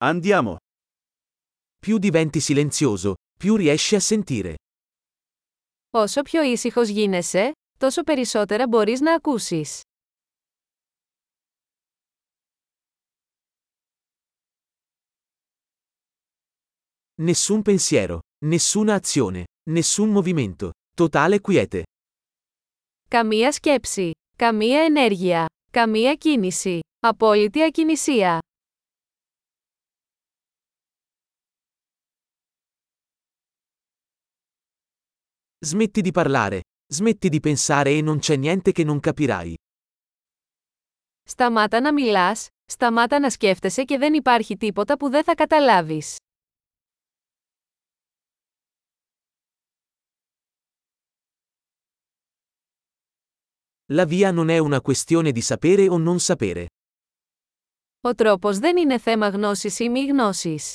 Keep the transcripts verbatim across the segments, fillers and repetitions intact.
Andiamo. Più diventi silenzioso, più riesci a sentire. Όσο πιο ήσυχος γίνεσαι, τόσο περισσότερα μπορείς να ακούσεις. Nessun pensiero, nessuna azione, nessun movimento. Totale quiete. Καμία σκέψη, καμία ενέργεια, καμία κίνηση, απόλυτη ακινησία. Smetti di parlare, smetti di pensare e non c'è niente che non capirai. Σταμάτα να μιλάς, σταμάτα να σκέφτεσαι και δεν υπάρχει τίποτα που δεν θα καταλάβεις. La via non è una questione di sapere o non sapere. Ο τρόπος δεν είναι θέμα γνώσης ή μη γνώσης.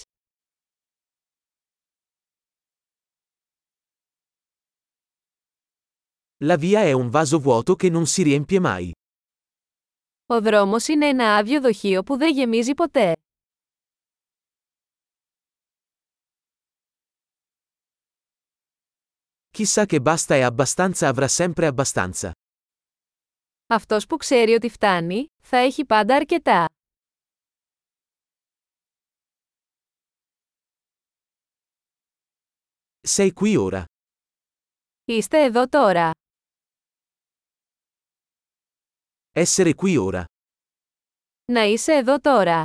La via è un vaso vuoto che non si riempie mai. Ο δρόμος είναι ένα άδειο δοχείο που δεν γεμίζει ποτέ. Chissà che basta e abbastanza avrà sempre abbastanza. Αυτός που ξέρει ότι φτάνει, θα έχει πάντα αρκετά. Sei qui ora. Είστε εδώ τώρα. Essere qui ora. Να είσαι εδώ τώρα.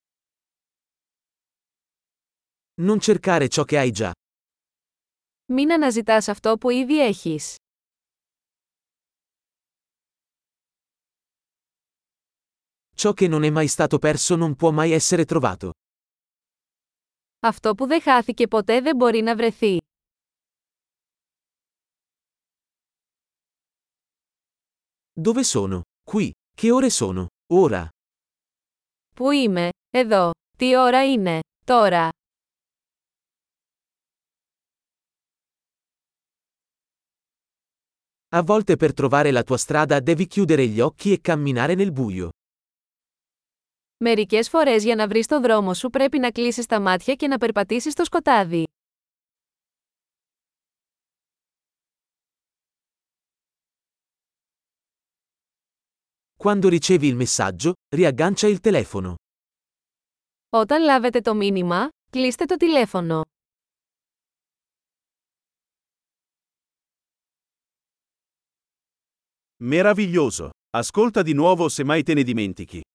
Non cercare ciò che hai già. Μην αναζητάς αυτό που ήδη έχεις. Ciò che non è mai stato perso non può mai essere trovato. Αυτό που δεν χάθηκε ποτέ δεν μπορεί να βρεθεί. Dove sono? Qui. Che ore sono? Ora. Πού είμαι? Εδώ. Τι ώρα είναι? Τώρα. A volte per trovare la tua strada devi chiudere gli occhi e camminare nel buio. Μερικές φορές για να βρεις το δρόμο σου πρέπει να κλείσεις τα μάτια και να περπατήσεις στο σκοτάδι. Quando ricevi il messaggio, riaggancia il telefono. Όταν λάβετε το μήνυμα, κλείστε το τηλέφωνο. Meraviglioso. Ascolta di nuovo se mai te ne dimentichi.